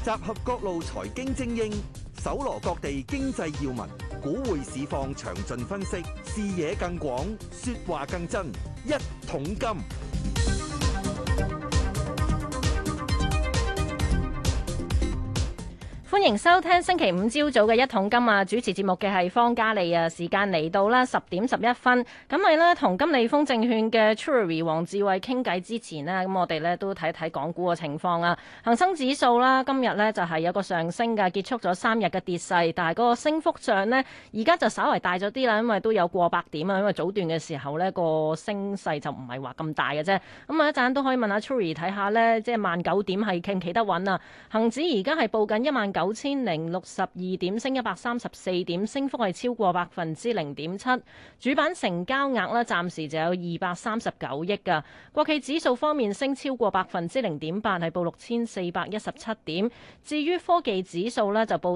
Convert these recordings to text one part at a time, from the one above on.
集合各路財經精英，搜羅各地經濟要聞，股匯市況詳盡分析，視野更廣，說話更真。一桶金。 歡迎收聽星期五朝早嘅一桶金啊！主持節目嘅係方嘉莉啊，時間嚟到啦10:11，咁咪呢同金利豐證券嘅 Trury 黃智慧傾偈之前呢，咁我哋呢都睇睇港股嘅情況啊。恒生指數啦，今日呢就係有個上升嘅，結束咗3日嘅跌勢，但係嗰個升幅上呢，而家就稍為大咗啲啦，因為都有過百點啊，因為早段嘅時候呢個升勢就唔係話咁大嘅啫。咁啊一陣都可以問下 Trury 睇下呢，即係19,000點係企唔企得穩啊？恒指而家係報緊19,062點，升134點，升幅係超過0.7%。主板成交額呢，暫時就有239億㗎。國企指數方面升超過0.8%，係報6,417點。至於科技指數呢，就報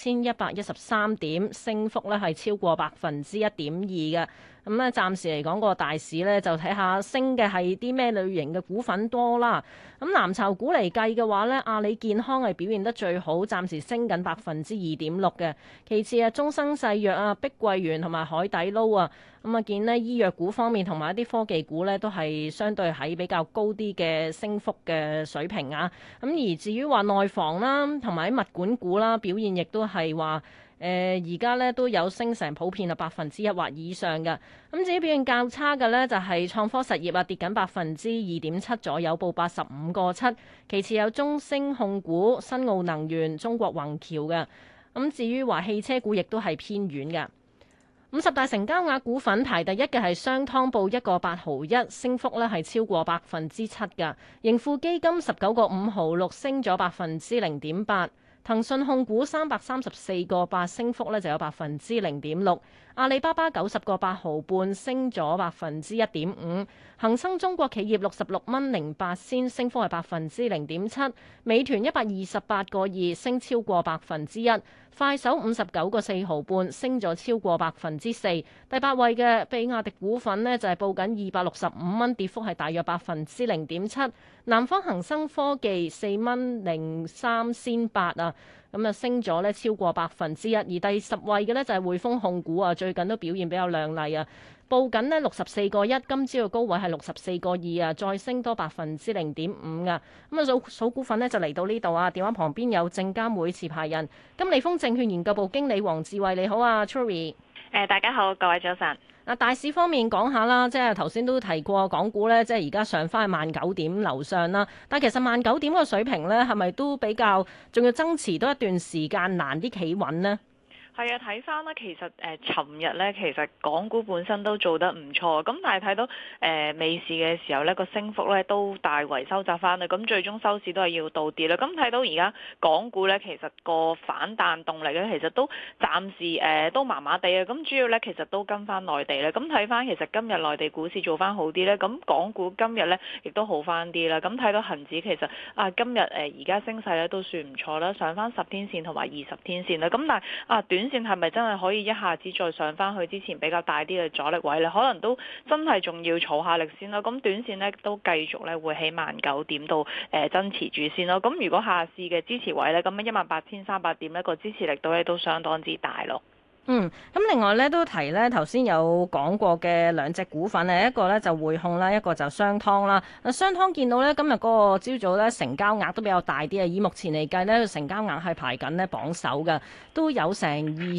4,113點，升幅呢係超過1.2%嘅。咁咧，暫時嚟講個大市呢，就睇下升嘅係啲咩類型嘅股份多啦。咁藍籌股嚟計嘅話呢，阿里健康係表現得最好，暫時升緊2.6%嘅。其次啊，中生製藥啊、碧桂園同埋海底撈啊，咁啊見呢醫藥股方面同埋一啲科技股呢，都係相對喺比較高啲嘅升幅嘅水平啊。咁而至於話內房啦，同埋物管股啦，表現亦都係話，而家咧都有升成普遍啊1%或以上嘅。咁至於表現較差嘅呢，就係創科實業啊，跌緊2.7%左右，報85個7。其次有中升控股、新奧能源、中國宏橋嘅。咁至於話汽車股亦都係偏軟嘅。50大成交額股份排第一嘅係商湯，報1.8毫1，升幅呢係超過7%嘅。盈富基金19.5毫6，升咗0.8%。騰訊控股334.8，升幅呢就有0.6%。阿里巴巴90.8毫半，升咗1.5%。恒生中國企業66.08，升幅係0.7%。美團128.2，升超過1%。快手59.4毫半，升咗超過4%。第八位嘅比亞迪股份呢，就係報緊265蚊，跌幅係大約0.7%。南方恒生科技4.03啊，咁啊升咗呢超過1%。而第10位嘅呢，就係匯豐控股啊，最近都表現比較亮麗啊，報緊呢64.1，今朝嘅高位係64.2啊，再升多0.5%啊。咁啊數股份呢，就嚟到呢度啊，電話旁邊有證監會持牌人金利豐證券研究部經理黃智慧，你好啊 Trury。 大家好，各位早晨。 大市方面講下啦，即係頭先都提過港股呢，即係而家上翻去19,000點樓上啦。但係其實19,000點個水平呢，係咪都比較仲要增持多一段時間，難啲企穩呢？ 係啊，睇翻啦，其實尋日咧，其實港股本身都做得唔錯，咁但係睇到尾市嘅時候咧，個升幅咧都大為收窄翻啦，咁最終收市都係要倒跌啦。咁睇到而家港股咧，其實個反彈動力咧，其實都暫時都麻麻地啊。咁主要咧，其實都跟翻內地咧。咁睇翻其實今日內地股市做翻好啲咧，咁港股今日咧亦都好翻啲啦。咁睇到恒指其實今日而家升勢咧都算唔錯啦，上翻10天線同埋20天線啦。咁但係短線係咪真係可以一下子再上翻去之前比較大啲嘅阻力位呢？可能都真係仲要儲下力先咯。咁短線呢都繼續咧會喺19,000點度增持住先咯。咁如果下市嘅支持位呢，咁18,300點呢個支持力度咧都相當之大咯。 咁另外咧都提咧，頭先有講過嘅兩隻股份咧，一個咧就匯控啦，一個就商湯啦。商湯見到咧今日嗰個朝早咧成交額都比較大啲啊，以目前嚟計咧，成交額係排緊咧榜首嘅，都有成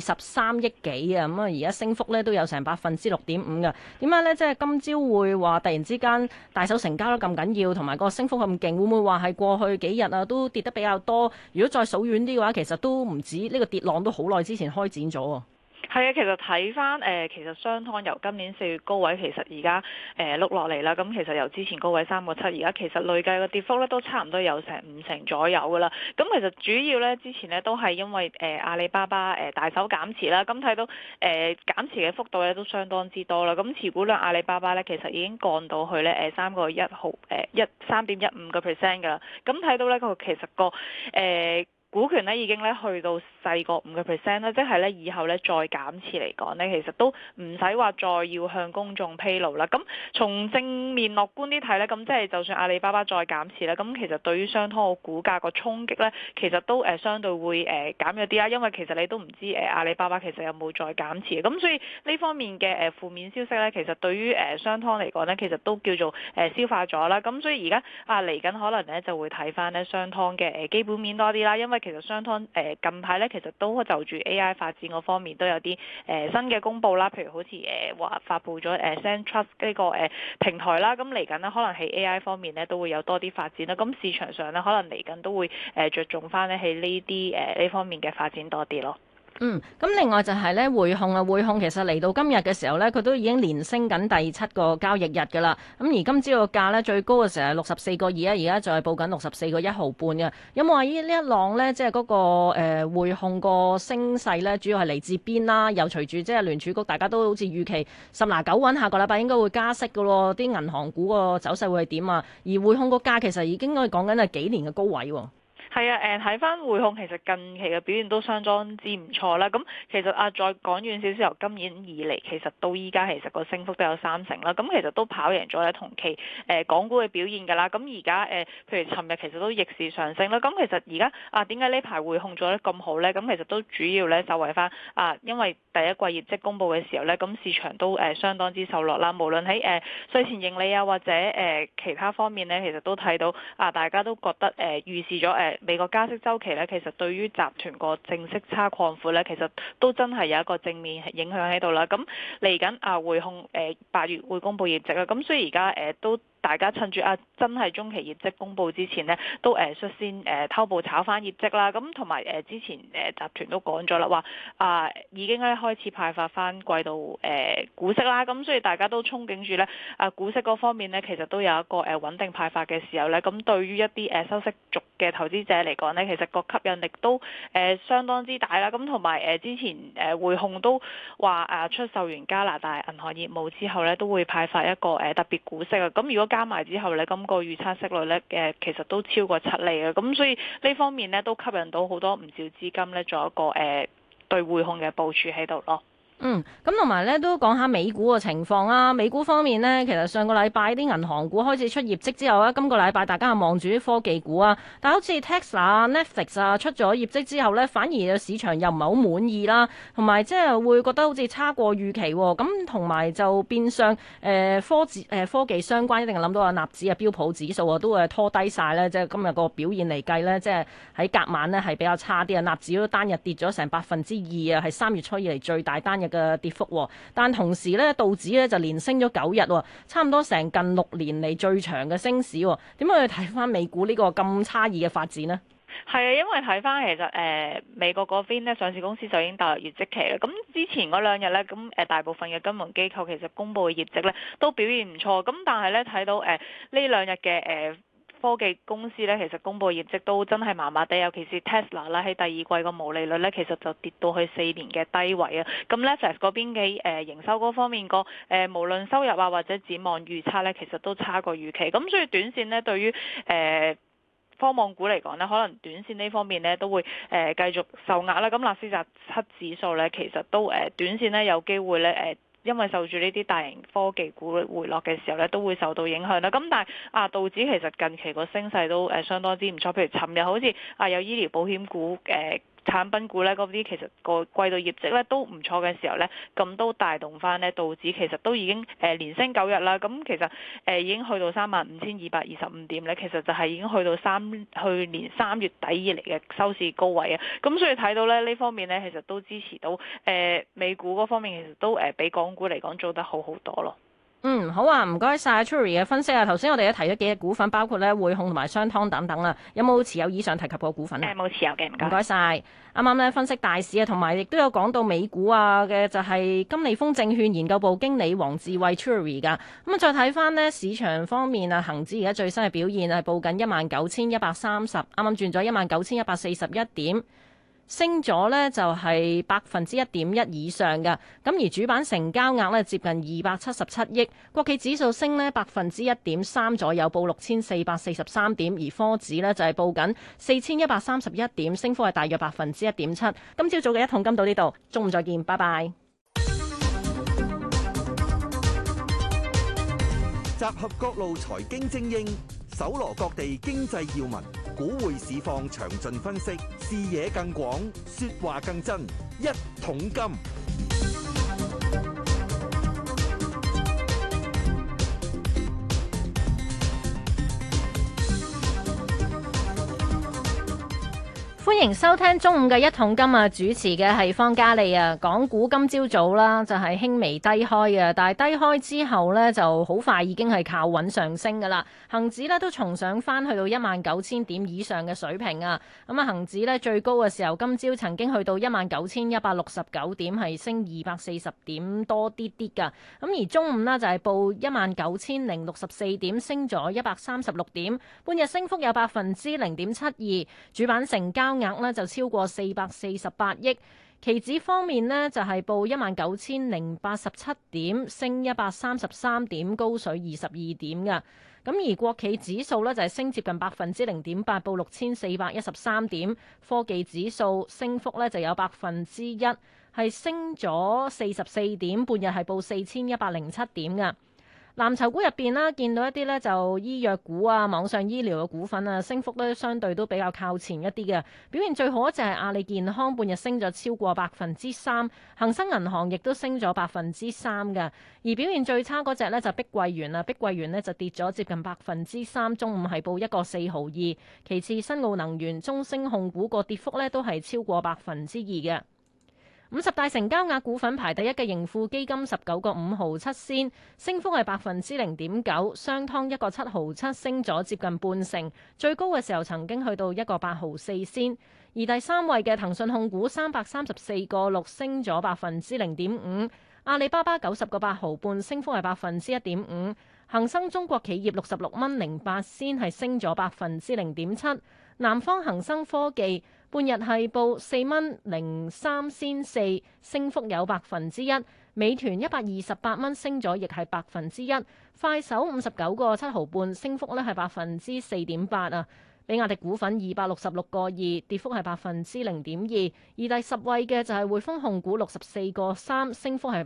23億幾啊。咁啊，而家升幅咧都有成6.5%嘅。點解咧？即係今朝會話突然之間大手成交得咁緊要，同埋個升幅咁勁，會唔會話係過去幾日啊都跌得比較多？如果再數遠啲嘅話，其實都唔止呢個跌浪都好耐之前開展咗。 係啊，其實睇翻其實商湯由今年4月高位，其實而家碌落嚟啦。咁其實由之前高位3.7，而家其實累計嘅跌幅咧都差唔多有成50%左右噶啦。咁其實主要咧之前咧都係因為阿里巴巴大手減持啦。咁睇到減持嘅幅度咧都相當之多啦。咁持股量阿里巴巴咧其實已經降到去咧3.15%噶啦。咁睇到咧其實個股權咧已經咧去到細過5%啦，即係咧以後咧再減持嚟講咧，其實都唔使話再要向公眾披露啦。咁從正面樂觀啲睇咧，咁即係就算阿里巴巴再減持咧，咁其實對於商湯個股價個衝擊咧，其實都相對會減咗啲啦。因為其實你都唔知阿里巴巴其實有冇再減持，咁所以呢方面嘅負面消息咧，其實對於商湯嚟講咧，其實都叫做消化咗啦。咁所以而家嚟緊可能咧就會睇翻咧商湯嘅基本面多啲啦，因為其實商湯近排咧其實都就住 AI 發展嗰方面都有啲新嘅公佈啦，譬如好似話發布咗SendTrust 呢個平台啦，咁嚟緊呢，可能喺 AI 方面咧都會有多啲發展啦，咁市場上咧可能嚟緊都會着重翻咧喺呢啲呢方面嘅發展多啲咯。 咁另外就係咧匯控啊，匯控其實嚟到今日嘅時候咧，佢都已經連升緊第7個交易日㗎啦。咁而今朝個價咧最高嘅時候係64.2啊，而家就係報緊64.1毫半嘅。有冇話呢一浪咧，即係嗰個匯控個升勢咧，主要係嚟自邊啦？又隨住即係聯儲局，大家都好似預期十拿九穩，下個禮拜應該會加息㗎咯。啲銀行股個走勢會係點啊？而匯控個價其實已經可以講緊係幾年嘅高位喎。 係啊，睇翻匯控其實近期嘅表現都相當之唔錯啦。咁其實再講遠少少，由今年以嚟其實到依家其實個升幅都有3成啦。咁其實都跑贏咗咧同期港股嘅表現㗎啦。咁而家譬如尋日其實都逆市上升啦。咁其實而家點解呢排匯控做得咁好咧？咁其實都主要咧受惠翻因為第一季業績公佈嘅時候咧，咁市場都相當之受落啦。無論喺稅前盈利啊或者其他方面咧，其實都睇到大家都覺得預示咗美國加息週期咧，其實對於集團個淨息差擴闊咧，其實都真係有一個正面影響喺度啦。咁嚟緊匯控8月會公布業績啦，咁所以而家都大家趁住真係中期業績公佈之前呢，都率先偷步炒翻業績啦。咁同埋之前集團都講咗啦，話已經咧開始派發翻季度股息啦。咁所以大家都憧憬住咧股息嗰方面呢，其實都有一個穩定派發嘅時候咧，咁對於一啲收息族嘅投資者嚟講呢，其實個吸引力都相當之大啦。咁同埋之前匯控都話出售完加拿大銀行業務之後呢，都會派發一個特別股息啊。咁如果加埋之後呢，咁個預測息率呢，其實都超過7厘啊。咁所以呢方面呢，都吸引到好多唔少資金呢，做一個對匯控嘅部署喺度咯。 咁同埋咧都講下美股嘅情況啊。美股方面呢，其實上個禮拜啲銀行股開始出業績之後咧，今個禮拜大家係望住啲科技股啊。但係好似 Tesla、Netflix 出咗業績之後呢，反而市場又唔係好滿意啦，同埋即係會覺得好似差過預期喎。咁同埋就變相科技相關一定係諗到納指標普指數啊，都會拖低晒咧。即係今日個表現嚟計呢，即係喺隔晚呢係比較差啲啊。納指都單日跌咗成2%啊，係3月初以嚟最大單日嘅跌幅，但同時咧道指咧就連升咗9日，差唔多成近6年嚟最長嘅升市。點解去睇翻美股呢個咁差異嘅發展呢？ 係啊，因為睇翻其實美國嗰邊咧上市公司就已經踏入業績期啦。咁之前嗰2日咧，咁大部分嘅金融機構其實公佈嘅業績咧都表現唔錯。咁但係咧睇到呢2日嘅科技公司咧，其實公佈業績都真係麻麻地，尤其是 Tesla 啦，喺第二季個毛利率咧，其實就跌到去4年嘅低位啊。咁 Netflix 嗰邊嘅營收嗰方面個無論收入啊或者展望預測咧，其實都差過預期。咁所以短線咧，對於科網股嚟講呢，可能短線呢方面呢都會繼續受壓啦。咁納斯達克指數呢，其實都短線呢有機會呢因為受住呢啲大型科技股回落嘅時候咧，都會受到影響啦。咁但係道指其實近期個升勢都相當之唔錯。譬如尋日好似有醫療保險股產品股咧，嗰啲其實個季度業績咧都唔錯嘅時候咧，咁都帶動翻咧道指其實都已經連升9日啦。咁其實已經去到35,225點咧，其實就係已經去到去年3月底以嚟嘅收市高位啊。咁所以睇到咧呢方面咧，其實都支持到美股嗰方面，其實都比港股嚟講做得好好多咯。 好啊，唔該晒 Tury 嘅分析啊。頭先我哋都提咗幾隻股份，包括咧匯控同埋商湯等等啦。有冇持有以上提及過股份啊？ 冇持有嘅，唔該晒。啱啱咧分析大市啊，同埋亦都有講到美股啊嘅，就係金利豐證券研究部經理黃智慧 Tury 噶。咁啊，再睇翻呢市場方面啊，恒指而家最新嘅表現係報緊19,130，啱啱轉咗19,141點。 升咗呢就係1.1%以上嘅。咁而主板成交額呢接近277億，國企指數升呢1.3%左右，報6443點，而科指呢就係報緊4131點，升幅係大約1.7%。今朝早嘅一桶金到呢度，中午再見，拜拜。 集合各路財經精英，搜羅各地經濟要聞，股匯市況詳盡分析，視野更廣，說話更真。一桶金。 歡迎收聽中午嘅一桶金啊！主持嘅係方嘉莉啊。港股今朝早啦，就係輕微低開嘅，但係低開之後呢，就好快已經係靠穩上升噶啦。恒指呢都重上翻去到19000點以上嘅水平啊。咁啊，恒指呢最高嘅時候，今朝曾經去到19169點，係升240點多啲啲噶。咁而中午呢，就係報19064點，升咗136點，半日升幅有0.72%。主板成交額呢就超過448億，期指方面呢就係報19087點，升133點，高水22點嘅。咁而國企指數呢就係升接近0.8%，報6413點。科技指數升幅呢就有1%，係升咗44點，半日係報4107點嘅。藍籌股入邊啦，見到一啲呢就醫藥股啊、網上醫療嘅股份啊，升幅呢相對都比較靠前一啲嘅。表現最好就係阿里健康，半日升咗超過3%，恒生銀行亦都升咗3%嘅。而表現最差嗰隻呢就碧桂園啦，碧桂園呢就跌咗接近3%，中午係報1.4毫2。其次新奧能源、中升控股個跌幅呢都係超過2%嘅。50大成交額股份排第一嘅盈富基金19個5毫7仙，升幅係0.9%，商湯1個7毫7，升咗接近半成，最高嘅時候曾經去到1個8毫4仙。而第三位嘅騰訊控股334個6，升咗0.5%，阿里巴巴90個8毫半，升幅係1.5%，恒生中國企業66蚊08仙，係升咗0.7%，南方恒生科技半日係報4蚊03仙4，升幅有1%。美團128蚊，升咗亦係1%。快手59個7毫半，升幅咧係4.8%啊。比亞迪股份266個2，跌幅係0.2%。而第10位嘅就係匯豐控股64個3，升幅係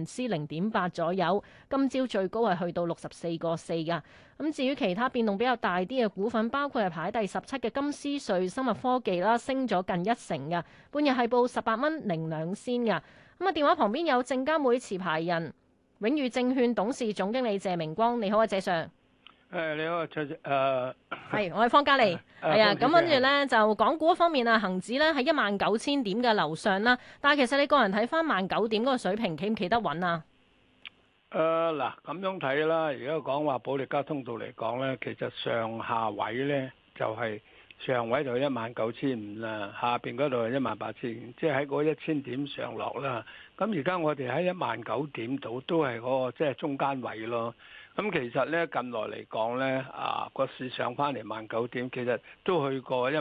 0.8%左右。今朝最高係去到64個4噶。咁至於其他變動比較大啲嘅股份，包括係排第17嘅金斯瑞生物科技啦，升咗近1成嘅，半日係報18蚊02仙嘅。咁啊，電話旁邊有證監會持牌人永裕證券董事總經理謝明光，你好啊，謝 Sir。 你好， 係，我係方嘉莉。係啊，咁跟住咧就港股方面啊，恒指咧喺19000點嘅樓上啦。但係其實你個人睇翻19000點嗰個水平企唔企得穩啊？ 嗱，咁樣睇啦。而家講話保利加通道嚟講咧，其實上下位咧就係上位就19500啦，下邊嗰度係18000，即係喺嗰1000點上落啦。咁而家我哋喺19000點度都係嗰個即係中間位咯。咁其實咧近來嚟講咧，個市上翻嚟19000點，其實都去過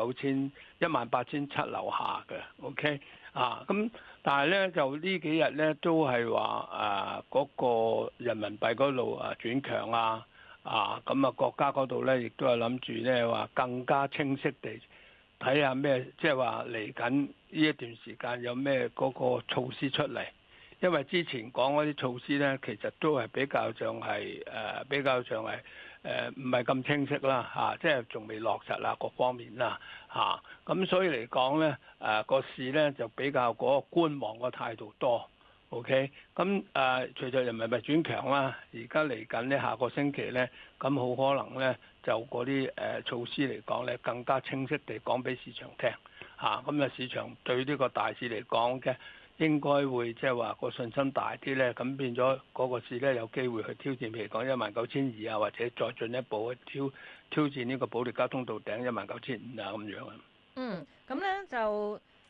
19000、18700樓下嘅 ，OK 咁但係咧就呢幾日咧都係話嗰個人民幣嗰度轉強咁啊國家嗰度咧亦都係諗住咧話更加清晰地睇下咩，即係話嚟緊呢一段時間有咩嗰個措施出嚟。因為之前講嗰啲措施咧，其實都係比較上係唔係咁清晰啦即係仲未落實啦各方面啦咁所以嚟講咧個市咧就比較嗰個觀望個態度多 ，OK 咁隨着人民幣轉強啦，而家嚟緊呢下個星期咧，咁好可能咧就嗰啲措施嚟講咧更加清晰地講俾市場聽咁市場對呢個大市嚟講嘅。應該會即係話個信心大啲咧，咁變咗嗰個市咧有機會去挑戰，譬如講19200或者再進一步去挑戰呢個保利加通道頂19500咁樣咁咧就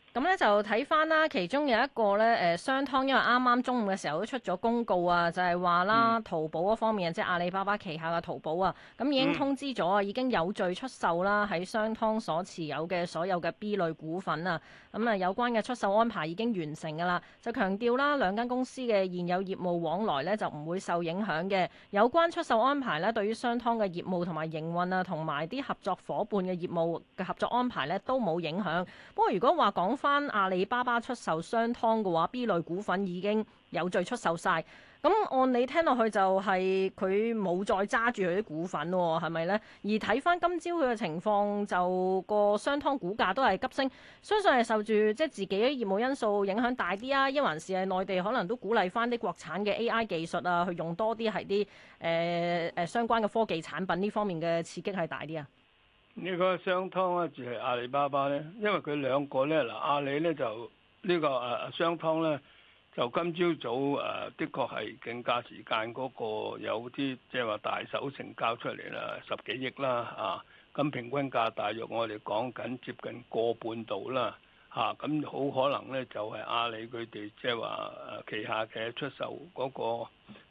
咁咧就睇翻啦，其中有一個咧商湯，因為啱啱中午嘅時候都出咗公告啊，就係話啦，淘寶嗰方面即係阿里巴巴旗下嘅淘寶啊，咁已經通知咗啊，已經有序出售啦喺商湯所持有嘅所有嘅 B 類股份啊，咁啊有關嘅出售安排已經完成㗎啦，就強調啦兩間公司嘅現有業務往來咧就唔會受影響嘅，有關出售安排咧對於商湯嘅業務同埋營運啊，同埋啲合作伙伴嘅業務嘅合作安排咧都冇影響。不過如果話講翻阿里巴巴出售商湯嘅話，B 類股份已經有序出售晒。咁按你聽落去就係佢冇再揸住佢啲股份喎，係咪呢？而睇翻今朝佢嘅情況，就個商湯股價都係急升，相信係受住即係自己嘅業務因素影響大啲啊，抑還是係內地可能都鼓勵翻啲國產嘅 AI 技術啊，去用多啲係啲相關嘅科技產品呢方面嘅刺激係大啲啊？ 呢個商湯咧，就係阿里巴巴咧，因為佢兩個咧，嗱阿里咧就呢個商湯咧，就今朝早的確係競價時間嗰個有啲即係話大手成交出嚟啦，10幾億啦啊，咁平均價大約我哋講緊接近個半度啦嚇，咁好可能咧就係阿里佢哋即係話旗下嘅出售嗰個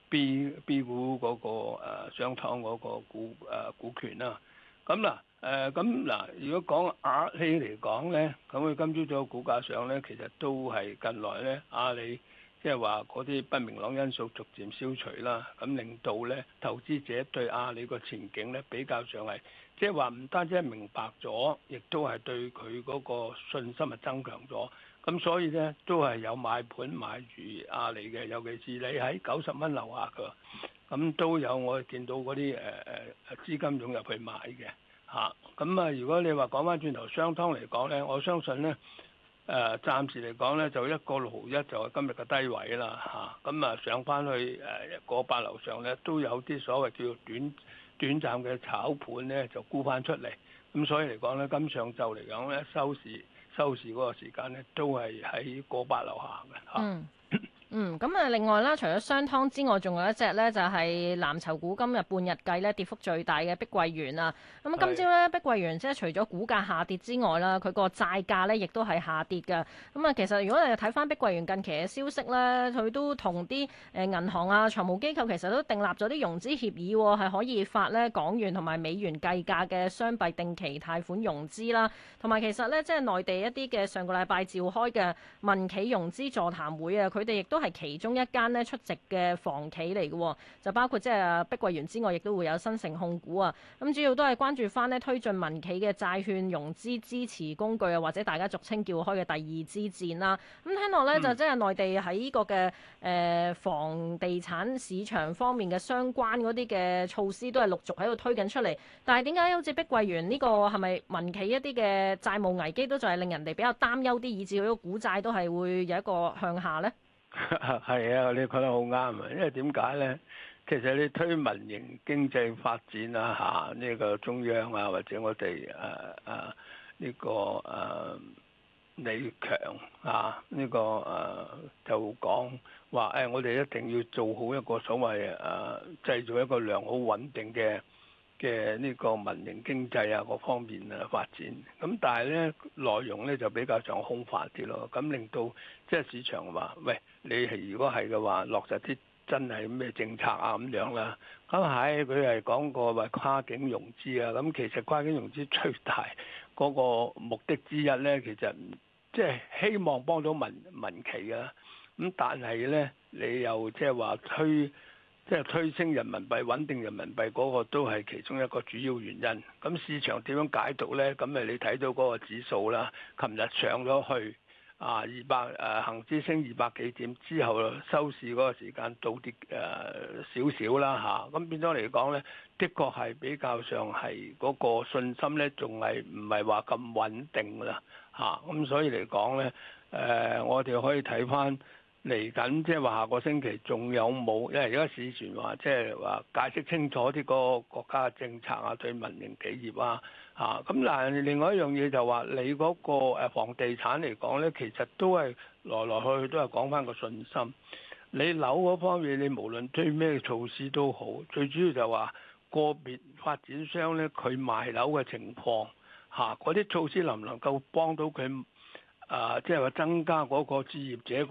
B 股嗰個商湯嗰個股權啦，咁嗱。咁嗱，如果講阿里嚟講咧，咁佢今朝早股價上咧，其實都係近來咧，阿里即係話嗰啲不明朗因素逐漸消除啦，咁令到咧投資者對阿里個前景咧比較上係，即係話唔單止係明白咗，亦都係對佢嗰個信心係增強咗，咁所以咧都係有買盤買住阿里嘅，尤其是你喺90蚊樓下㗎，咁都有我見到嗰啲資金湧入去買嘅。嚇，咁啊！如果你話講翻轉頭商湯嚟講咧，我相信咧，暫時嚟講咧就1.61就係今日嘅低位啦，嚇，咁啊上翻去1.8樓上咧都有啲所謂叫做短暫嘅炒盤咧就沽翻出嚟，咁所以嚟講咧，今上晝嚟講咧收市嗰個時間咧都係喺1.8樓下嘅嚇。 咁啊，另外啦，除咗商湯之外，仲有一隻呢，就係藍籌股今日半日計呢跌幅最大嘅碧桂園啊。咁今朝呢，碧桂園即係除咗股價下跌之外啦，佢個債價呢亦都係下跌㗎。咁啊，其實如果你睇翻碧桂園近期嘅消息呢，佢都同啲銀行啊、財務機構其實都訂立咗啲融資協議，係可以發呢港元同埋美元計價嘅雙幣定期貸款融資啦。同埋其實呢，即係內地一啲嘅上個禮拜召開嘅民企融資座談會啊，佢哋亦都係其中一間咧出席嘅房企嚟嘅，就包括即係碧桂園之外，亦都會有新城控股啊。咁主要都係關注翻咧推進民企嘅債券融資支持工具啊，或者大家俗稱叫開嘅第二支箭啦。咁聽落咧就即係內地喺呢個嘅房地產市場方面嘅相關嗰啲嘅措施都係陸續喺度推緊出嚟。但係點解好似碧桂園呢個係咪民企一啲嘅債務危機都就係令人哋比較擔憂啲，以至佢個股債都係會有一個向下呢？ 係啊，你講得好啱啊！因為點解咧？其實你推民營經濟發展啊，呢個中央啊，或者我哋呢個李強啊，呢個就講話我哋一定要做好一個所謂製造一個良好穩定嘅呢個民營經濟啊，各方面發展，咁但係咧內容咧就比較上空泛啲咯，咁令到即係市場話，喂，你係如果係嘅話，落實啲真係咩政策啊咁樣啦，咁係佢係講過話跨境融資啊，咁其實跨境融資最大嗰個目的之一咧，其實即係希望幫到民企啊，咁但係咧你又即係話推升人民幣、穩定人民幣嗰個都係其中一個主要原因。咁市場點樣解讀呢？咁你睇到嗰個指數啦，琴日上咗去恆指升200幾點之後，收市嗰個時間倒跌少少啦嚇。咁變咗嚟講呢，的確係比較上係嗰個信心呢，仲係唔係話咁穩定啦嚇。咁所以嚟講呢，我哋可以睇翻。嚟緊即係話下個星期仲有冇？因為而家市傳話即係話解釋清楚啲個國家嘅政策啊，對民營企業啊嚇。咁但係另外一樣嘢就話你嗰個房地產嚟講咧，其實都係來來去去都係講翻個信心。你樓嗰方面，你無論推咩措施都好，最主要就話個別發展商咧佢賣樓嘅情況嚇，嗰啲措施能唔能夠幫到佢？ 即係話增加嗰個置業者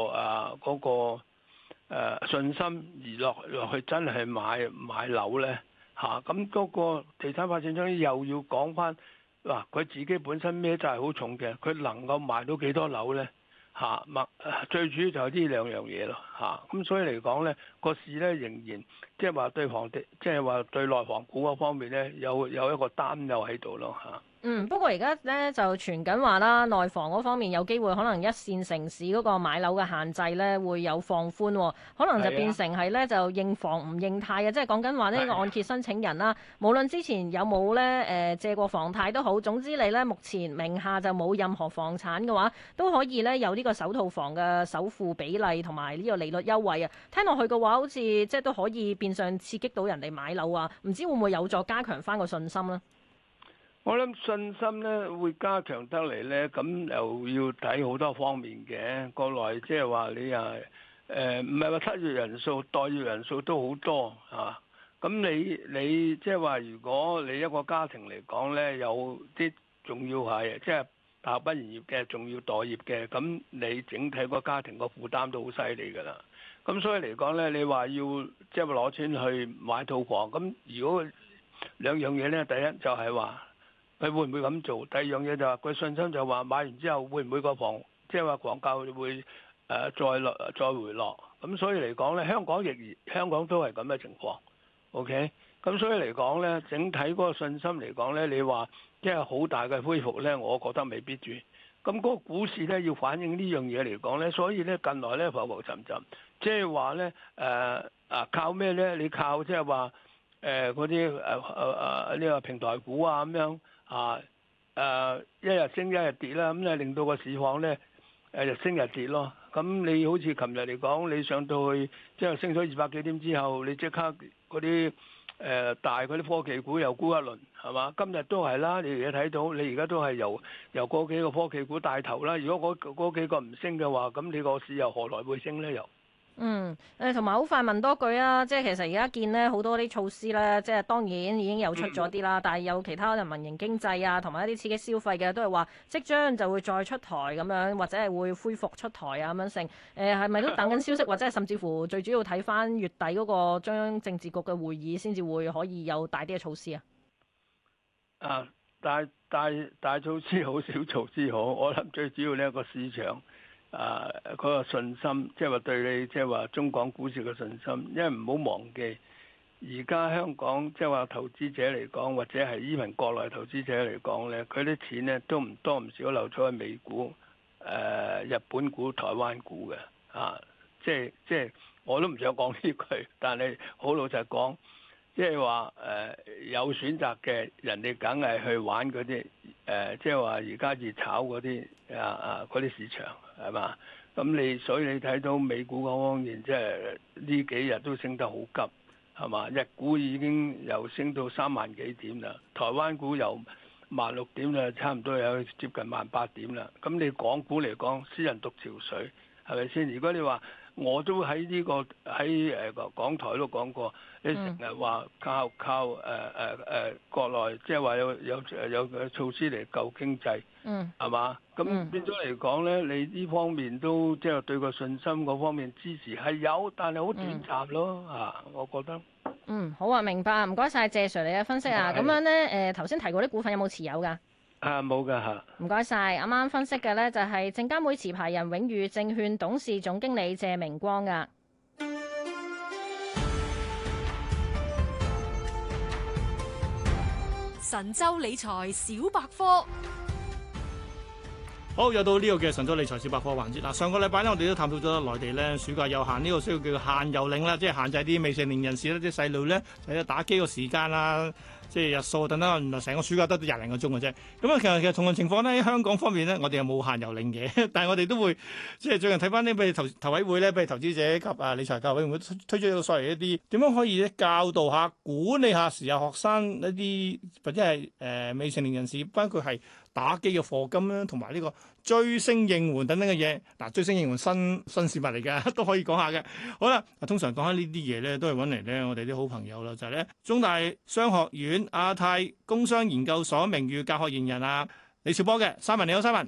信心而落去真係買樓咧嚇，咁嗰個地產發展商又要講翻嗱，佢自己本身孭債好重嘅，佢能夠賣到幾多樓咧嚇？最主要就係呢兩樣嘢咯嚇，咁所以嚟講咧，個市咧仍然即係話對房地，即係話對內房股嗰方面咧有一個擔憂喺度咯嚇。 不過而家咧就傳緊話啦，內房嗰方面有機會可能一線城市嗰個買樓嘅限制咧會有放寬，可能就變成係咧就認房唔認貸嘅，即係講緊話呢個按揭申請人啦，無論之前有冇咧借過房貸都好，總之你咧目前名下就冇任何房產嘅話，都可以咧有呢個首套房嘅首付比例同埋呢個利率優惠啊。聽落去嘅話，好似即係都可以變相刺激到人哋買樓啊，唔知會唔會有助加強翻個信心呢？ 我諗信心咧會加強得嚟咧，咁又要睇好多方面嘅。國內即係話你唔係話失業人數、待業人數都好多啊。咁你即係話，如果你一個家庭嚟講咧，有啲仲要係即係大學畢業嘅，仲要待業嘅，咁你整體個家庭個負擔都好犀利㗎啦。咁所以嚟講咧，你話要即係攞錢去買套房，咁如果兩樣嘢咧，第一就係話，佢會唔會咁做？第二樣嘢就話佢信心就話買完之後會唔會個房即係話房價會再回落？咁所以嚟講咧，香港都係咁嘅情況。OK，咁所以嚟講咧，整體嗰個信心嚟講咧，你話即係好大嘅恢復咧，我覺得未必住。咁嗰個股市咧要反映呢樣嘢嚟講咧，所以咧近來咧浮浮沉沉，即係話咧靠咩咧？你靠即係話嗰啲呢個平台股啊咁樣。一日升一日跌啦，咁咧令到個市況咧日升日跌咯。咁你好似琴日嚟講，你上到去即係升咗200幾點之後，你即刻嗰啲大嗰啲科技股又沽一輪，係嘛？今日都係啦，你而家睇到，你而家都係由嗰幾個科技股帶頭啦。如果嗰幾個唔升嘅話，咁你個市又何來會升咧？又？ 同埋好快問多句啊，即係其實而家見呢好多啲措施咧，即係當然已經有出咗啲啦，但係有其他人民營經濟啊，同埋一啲刺激消費嘅都係話即將就會再出台咁樣，或者係會恢復出台啊咁樣成。係咪都等緊消息，或者係甚至乎最主要睇翻月底嗰個中央政治局嘅會議先至會可以有大啲嘅措施啊？ 大措施好，小措施好，我諗最主要呢個市場。嗰個信心，即係話對你，即係話中港股市嘅信心，因為唔好忘記，而家香港即係話投資者嚟講，或者係even國內投資者嚟講咧，佢啲錢咧都唔多唔少流咗去美股、日本股、台灣股嘅，即係我都唔想講呢句，但係好老實講，即係話有選擇嘅人哋梗係去玩嗰啲即係話而家熱炒嗰啲嗰啲市場。係嘛？所以你睇到美股嗰方面，即係呢幾日都升得好急，係嘛？日股已經又升到3萬幾點啦，台灣股由16000點啦，差唔多有接近18000點啦。咁你港股嚟講，私人獨潮水係咪先？如果你話我都喺呢個喺港台都講過，你成日話靠國內，即係話有措施嚟救經濟，係嘛？咁變咗嚟講咧，你呢方面都即係對個信心嗰方面支持係有，但係好短暫咯我覺得。 好啊，明白，唔該晒謝 Sir 你嘅分析啊。咁樣咧頭先提過啲股份有冇持有㗎？ 冇㗎嚇。 唔該晒，啱啱分析嘅咧就係證監會持牌人永裕證券董事總經理謝明光㗎。 神州理財小百科。 好，又到呢個嘅神州理財小百科環節啦。上個禮拜呢，我哋都探討咗內地咧暑假有限呢個需要叫限遊令啦，即係限制啲未成年人士咧，啲細路咧就打機個時間啦，即係日數等等。原來成個暑假得20零個鐘嘅啫。咁其實同樣情況咧，喺香港方面咧，我哋又冇限遊令嘅，但係我哋都會即係最近睇翻啲譬如投委會咧，譬如投資者及理財教育委員會推出咗所謂一啲點樣可以咧教導下、管理下時下學生一啲或者係未成年人士，包括係打機嘅課金啦，同埋呢個追星應援等等嘅嘢。嗱，追星應援新事物嚟嘅，都可以講下嘅。好啦，通常講開呢啲嘢咧，都係揾嚟咧我哋啲好朋友啦，就係咧中大商學院亞太工商研究所名譽教學研人李兆波嘅。Simon，你好，Simon。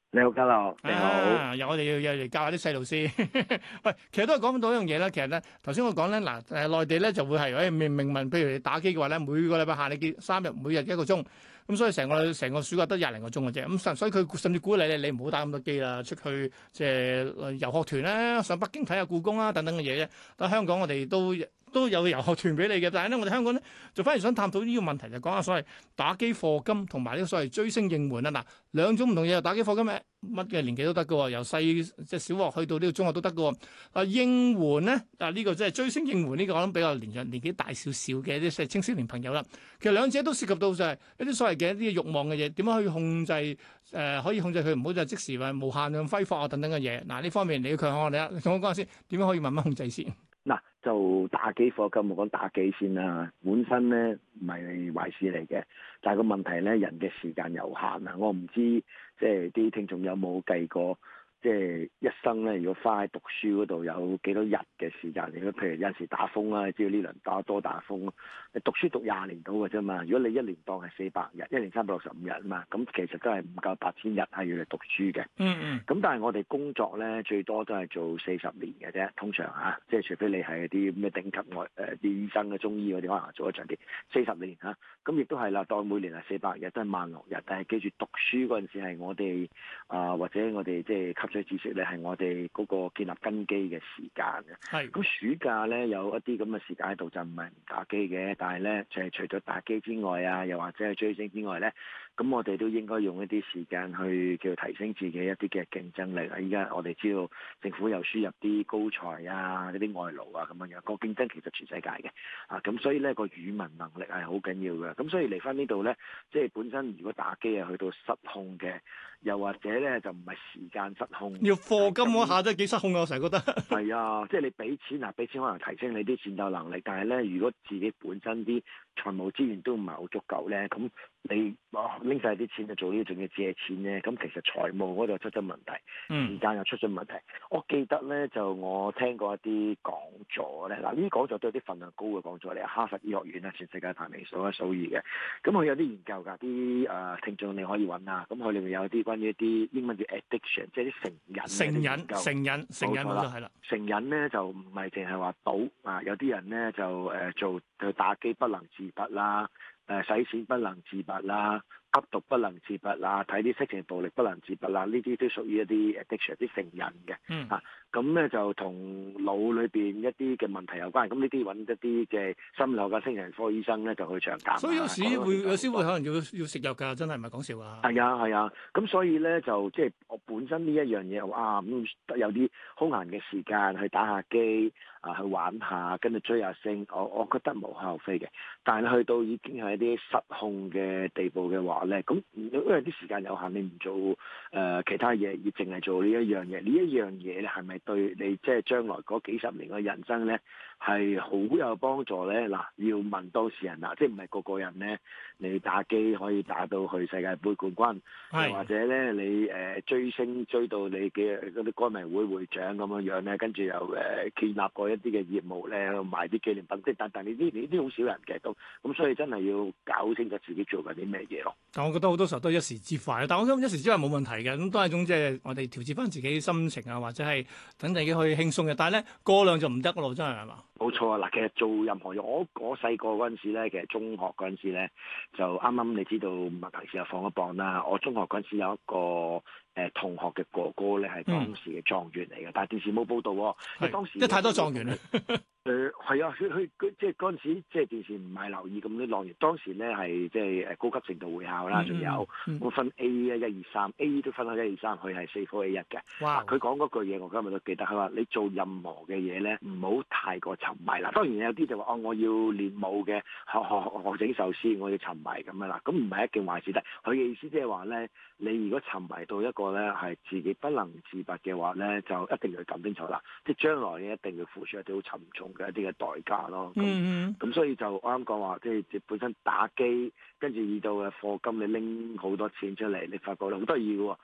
你好，家樂，你好。 又我哋要嚟教下啲細路先。喂，其實都係講到一樣嘢啦。其實咧，頭先我講咧，嗱內地咧就會係明文，譬如你打機嘅話咧，每個禮拜限你3日，每日1個鐘。咁所以成個暑假得20零個鐘嘅啫。咁所以佢甚至鼓勵你唔好打咁多機啦，出去即係遊學團啦，上北京睇下故宮啦等等嘅嘢啫。但香港我哋都有遊學團俾你嘅，但係咧我哋香港咧就反而想探討呢個問題，就講下所謂打機課金同埋呢個所謂追星應援啊。嗱，兩種唔同嘢，打機課金乜嘅年紀都得嘅喎，由細即係小學去到呢個中學都得嘅喎。啊應援咧，呢個即係追星應援呢個，我諗比較年紀大少少嘅啲青少年朋友啦。其實兩者都涉及到就係一啲所謂嘅一啲慾望嘅嘢，點樣去控制可以控制佢唔好就即時話無限量揮霍啊等等嘅嘢。嗱呢方面你要強項我哋啦，同我講下先，點樣可以慢慢控制先？ 嗱，就打機課金，我講打機先啦。本身咧唔係壞事嚟嘅，但係個問題咧，人嘅時間有限啊。我唔知即係啲聽眾有冇計過，即係一生咧，如果花喺讀書嗰度有幾多日嘅時間？如果譬如有陣時打風啦，知道呢輪多打風，你讀書讀20年到嘅啫嘛。如果你一年當係400日，一年365日啊嘛，咁其實都係唔夠8000日係要嚟讀書嘅。咁但係我哋工作咧最多都係做40年嘅啫，通常嚇，即係除非你係啲咩頂級啲醫生嘅中醫嗰啲，可能做得長啲40年嚇。咁亦都係啦，當每年係400日，都係16000日。但係記住讀書嗰陣時係我哋或者我哋即係吸取知識咧，係我哋嗰個建立根基嘅時間嘅。係。咁暑假咧有一啲咁嘅時間喺度，就唔係唔打機嘅，但係咧就係除咗打機之外啊，又或者係追星之外咧，咁我哋都應該用一啲時間去叫提升自己一啲嘅競爭力啊！依家我哋知道政府又輸入啲高才啊、嗰啲外勞啊咁樣樣，個競爭其實全世界嘅啊，咁所以咧個語文能力係好緊要嘅。咁所以嚟翻呢度咧，即係本身如果打機係去到失控嘅，又或者咧就唔係時間失控， 要課金嗰下真係幾失控啊！我成日覺得係啊，即係你俾錢可能提升你啲戰鬥能力，但係咧如果自己本身啲財務資源都唔係好足夠咧，咁你拎晒啲錢去做呢啲，仲要借錢咧，咁其實財務嗰度出咗問題，時間又出咗問題。我記得咧就我聽過一啲講座咧，嗱呢啲講座都有啲份量高嘅講座嚟，哈佛醫學院啊，全世界排名數一數二嘅。咁佢有啲研究㗎，啲聽眾你可以揾啊。咁佢裏面有啲關於一啲英文叫 addiction， 即係啲成癮冇錯啦。成癮咧就唔係淨係話賭啊，有啲人咧就打機不能自拔啦，使錢不能自拔啦，吸毒不能自拔啦，睇啲色情暴力不能自拔啦，呢啲都屬於一啲 addiction， 啲成癮嘅。咁咧就同腦裏邊一啲嘅問題有關。咁呢啲揾一啲嘅心理學嘅精神科醫生咧就去長鑑。 所以有時會可能要食藥㗎，真係唔係講笑啊！ 係啊，咁所以咧就即係我本身呢一樣嘢有啲空閒嘅時間去打下機去玩下，跟住追下星，我覺得無可厚非嘅。但係去到已經係一啲失控嘅地步嘅話咧，咁因為啲時間有限，你唔做其他嘢，而淨係做呢一樣嘢，呢一樣嘢咧係咪對你即係將來嗰幾十年嘅人生咧係好有幫助咧？嗱，要問當事人啦，即係唔係個個人咧，你打機可以打到去世界盃冠軍，又或者咧你追星追到你嘅嗰啲歌迷會會長咁樣咧，跟住又建立過一啲嘅業務咧，賣啲紀念品，即係但呢啲好少人嘅都，咁所以真係要搞清楚自己做緊啲咩嘢咯。 但我覺得好多時候都係一時之快，但我諗一時之快冇問題嘅，咁都係一種即係我哋調節翻自己心情啊，或者係等自己可以輕鬆嘅。但係咧過量就唔得咯，真係嘛？ 冇錯啊！嗱，其實做任何嘢，我細個嗰陣時咧，其實中學嗰陣時咧，就啱啱你知道麥提士又放咗榜啦。我中學嗰陣時有一個同學嘅哥哥咧，係當時嘅狀元嚟嘅，但係電視冇報導喎，因為當時太多狀元啦。 係啊，佢即係嗰陣時，即係電視唔係留意咁啲狀元。當時咧係即係高級程度會考啦，仲有我分 A 啊1、2、3 ，A 都分開1、2、3，佢係4科 A1嘅。哇！佢講嗰句嘢，我今日都記得。佢話：你做任何嘅嘢咧，唔好太過沉迷啦。當然有啲就話我要練舞嘅，學整壽司，我要沉迷咁樣啦。咁唔係一件壞事，但係佢嘅意思即係話咧，你如果沉迷到一個咧係自己不能自拔嘅話咧，就一定要諗清楚啦。即係將來你一定要付出一啲好沉重嘅一啲嘅代價咯。咁所以就我啱講話，即係本身打機，跟住遇到嘅課金，你拎好多錢出嚟，你發覺咧好得意嘅喎。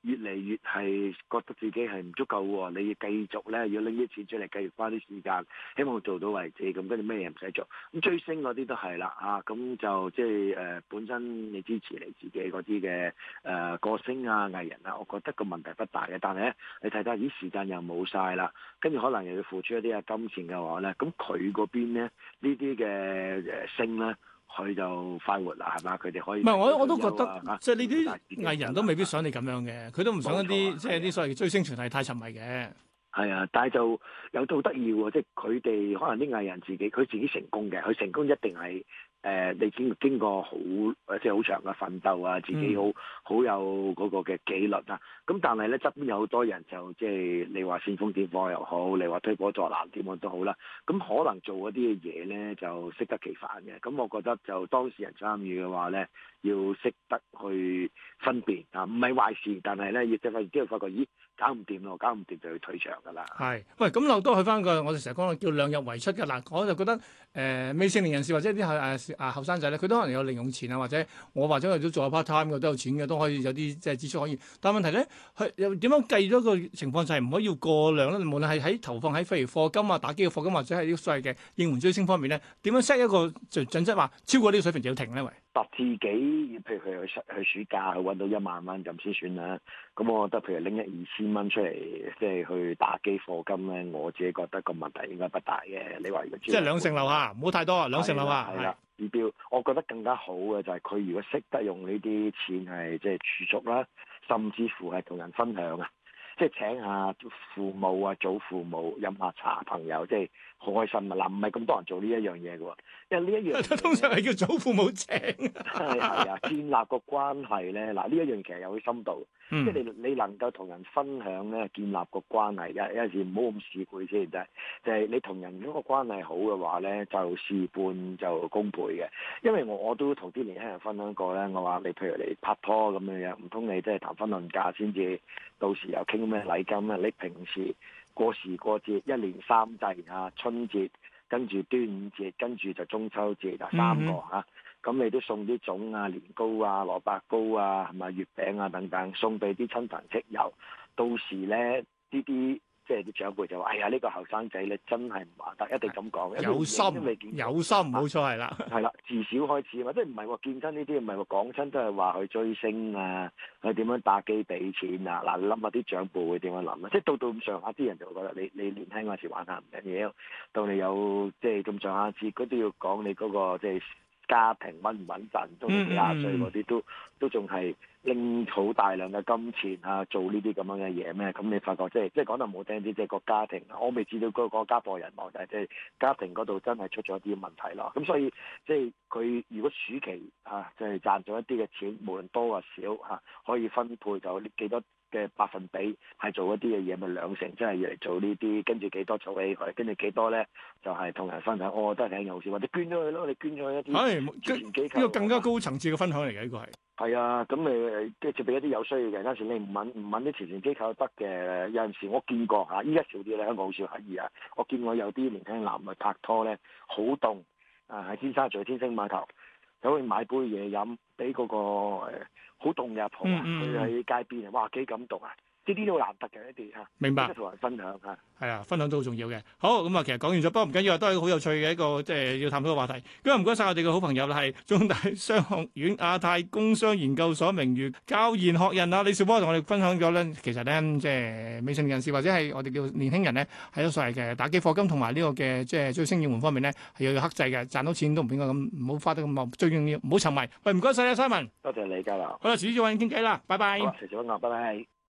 越嚟越係覺得自己係唔足夠喎，你要繼續咧要拎啲錢出嚟，繼續花啲時間，希望做到為止，咁跟住咩嘢唔使做。咁追星嗰啲都係啦，咁就即係本身你支持你自己嗰啲嘅歌星啊藝人啊，我覺得個問題不大嘅。但係咧，你睇睇啲時間又冇晒啦，跟住可能又要付出一啲金錢嘅話咧，咁佢嗰邊咧呢啲嘅星咧。佢就快活啦，係嘛？佢哋可以唔係我都覺得，即係呢啲藝人都未必想你咁樣嘅，佢都唔想一啲即係啲所謂嘅追星團體太沉迷嘅。 係啊，但係就有都好得意喎，即係佢哋可能啲藝人佢自己成功嘅，佢成功一定係你經過好即係好長嘅奮鬥啊，自己好有嗰個嘅紀律啊。咁但係咧側邊有好多人就即係你話煽風點火又好，你話推波助瀾點樣都好啦。咁可能做嗰啲嘅嘢咧就適得其反嘅。咁我覺得就當事人參與嘅話咧，要識得去分辨啊，唔係壞事，但係咧亦即係之後發覺，咦搞唔掂咯，搞唔掂就要退場㗎啦。 係，喂，咁又都去翻個我哋成日講叫量入為出嘅嗱，我就覺得未成年人士或者啲後生仔咧，佢都可能有零用錢啊，或者我都做下 part time 嘅，都有錢嘅，都可以有啲即係支出可以。但係問題咧，佢又點樣計咗個情況就係唔可以要過量咧？無論係喺投放喺譬如課金啊、打機嘅課金，或者係啲所謂嘅應援追星方面咧，點樣 set 一個準則話超過呢個水平就要停咧？喂， 自己譬如佢去暑假去揾到1萬蚊咁先算啦。咁我覺得譬如拎1,000-2,000蚊出嚟，即係去打機課金咧，我自己覺得個問題應該不大嘅。你話如果即係2成樓下，唔好太多啊，2成樓下係啦。指標，我覺得更加好嘅就係佢如果識得用呢啲錢係即係儲蓄啦，甚至乎係同人分享啊，即係請下父母啊、祖父母飲下茶，朋友即係好開心啊！嗱，唔係咁多人做呢一樣嘢嘅喎，因為呢一樣通常係叫祖父母請。 係啊，建立個關係咧，嗱呢一樣其實有啲深度，即係你能夠同人分享咧，建立個關係嘅，有陣時唔好咁市儈先，就係你同人嗰個關係好嘅話咧，就事半就功倍嘅。因為我都同啲年輕人分享過咧，我話你譬如你拍拖咁樣樣，唔通你即係談婚論嫁先至到時又傾咩禮金啊？你平時過時過節1年3祭啊，春節跟住端午節，跟住就中秋節啊，3個嚇。咁你都送啲粽啊、年糕啊、蘿蔔糕啊、係咪月餅啊等等，送俾啲親朋戚友。到時咧，呢啲即係啲長輩就話：哎呀，呢個後生仔咧真係唔話得，一定咁講。 有心，冇錯係啦。 係啦，自小開始啊嘛，即係唔係話見親呢啲，唔係話講親都係話去追星啊，去點樣打機俾錢啊。嗱，你諗下啲長輩會點樣諗啊？即係到咁上下啲人就會覺得你年輕嗰時玩下唔緊要，到你有即係咁上下節，佢都要講你嗰個即係家庭穩唔穩陣，到你幾廿歲嗰啲都仲係拎好大量嘅金錢啊，做呢啲咁樣嘅嘢咩？咁你發覺即係講得唔好聽啲，即係個家庭，我未知道嗰個家破人亡，但係即係家庭嗰度真係出咗一啲問題咯。咁所以即係佢如果暑期即係賺咗一啲嘅錢，無論多或少可以分配就幾多嘅百分比係做一啲嘅嘢，咪2成，即係要嚟做呢啲，跟住幾多儲起佢，跟住幾多咧就係同人分享。我覺得係挺好事，或者捐咗佢咯，你捐咗一啲慈善機構， 呢個更加高層次嘅分享嚟嘅，呢個係。 係啊，咁你即係俾一啲有需要嘅人。有時你唔揾啲慈善機構得嘅，有陣時我見過依家少啲咧，香港好少乞兒啊。我見過有啲年輕男咪拍拖咧，好凍喺尖沙咀天星碼頭走去買杯嘢飲，俾嗰個好凍嘅阿婆佢喺街邊啊，哇幾感動啊！呢啲都難得嘅一啲嚇， 明白， 同人分享嚇。 係啊，分享都好重要嘅。好，咁啊，其實講完咗，不過唔緊要啊，都係好有趣嘅一個即係要探討嘅話題。咁啊，唔該晒我哋嘅好朋友啦，係中大商學院亞太工商研究所名譽教研學人啊，李兆波同我哋分享咗咧，其實咧即係未成年人士或者係我哋叫年輕人咧，喺咗所謂嘅打機課金同埋呢個嘅即係追星應援方面咧，係要克制嘅，賺到錢都唔應該咁，唔好花得咁茂，最重要唔好沉迷。喂，唔該晒啊，Simon。 多謝你交流。 好啦，遲啲再揾你傾偈啦，拜拜。 好，遲啲揾我，拜拜。